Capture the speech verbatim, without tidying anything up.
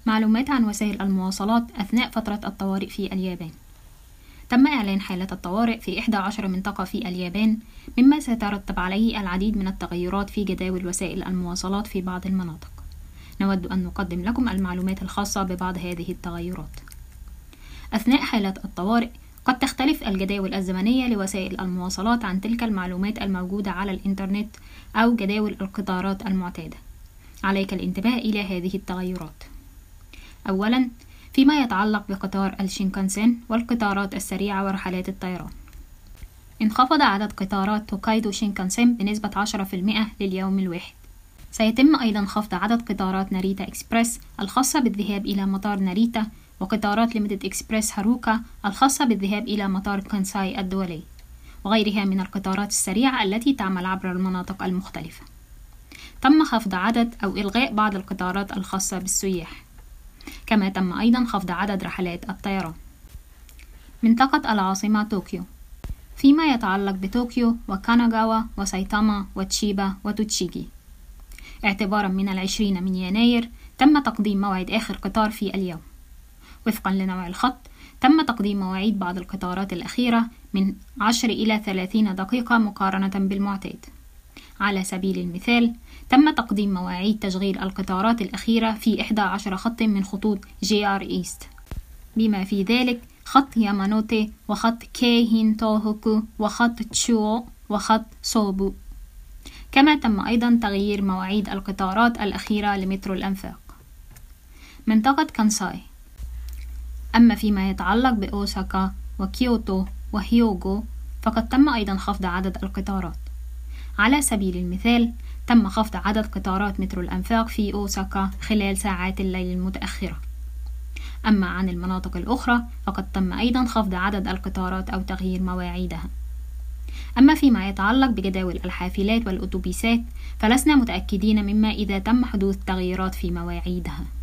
معلومات عن وسائل المواصلات أثناء فترة الطوارئ في اليابان. تم إعلان حالة الطوارئ في إحدى عشرة منطقة في اليابان، مما سيترتب عليه العديد من التغيرات في جداول وسائل المواصلات في بعض المناطق. نود أن نقدم لكم المعلومات الخاصة ببعض هذه التغيرات. أثناء حالة الطوارئ قد تختلف الجداول الزمنية لوسائل المواصلات عن تلك المعلومات الموجودة على الإنترنت أو جداول القطارات المعتادة. عليك الانتباه إلى هذه التغيرات. أولاً، فيما يتعلق بقطار الشينكانسين والقطارات السريعة ورحلات الطيران، انخفض عدد قطارات توكايدو شينكانسين بنسبة عشرة بالمئة لليوم الواحد. سيتم أيضا خفض عدد قطارات ناريتا إكسبريس الخاصة بالذهاب إلى مطار ناريتا، وقطارات ليميتد إكسبريس هاروكا الخاصة بالذهاب إلى مطار كانساي الدولي، وغيرها من القطارات السريعة التي تعمل عبر المناطق المختلفة. تم خفض عدد أو إلغاء بعض القطارات الخاصة بالسياح، كما تم أيضا خفض عدد رحلات الطيران. منطقة العاصمة طوكيو، فيما يتعلق بطوكيو وكاناغاوا وسايتاما وتشيبا وتوتشيجي، اعتبارا من العشرين من يناير تم تقديم موعد آخر قطار في اليوم. وفقا لنوع الخط تم تقديم مواعيد بعض القطارات الأخيرة من عشر إلى ثلاثين دقيقة مقارنة بالمعتاد. على سبيل المثال، تم تقديم مواعيد تشغيل القطارات الأخيرة في إحدى عشرة خط من خطوط جي آر إيست، بما في ذلك خط يامانوتي وخط كيهين توهوكو وخط تشوو وخط سوبو. كما تم أيضا تغيير مواعيد القطارات الأخيرة لمترو الأنفاق. منطقة كانساي، أما فيما يتعلق بأوساكا وكيوتو وهيوغو فقد تم أيضا خفض عدد القطارات. على سبيل المثال، تم خفض عدد قطارات مترو الأنفاق في أوساكا خلال ساعات الليل المتأخرة. أما عن المناطق الأخرى فقد تم أيضا خفض عدد القطارات أو تغيير مواعيدها. أما فيما يتعلق بجداول الحافلات والأتوبيسات فلسنا متأكدين مما إذا تم حدوث تغييرات في مواعيدها.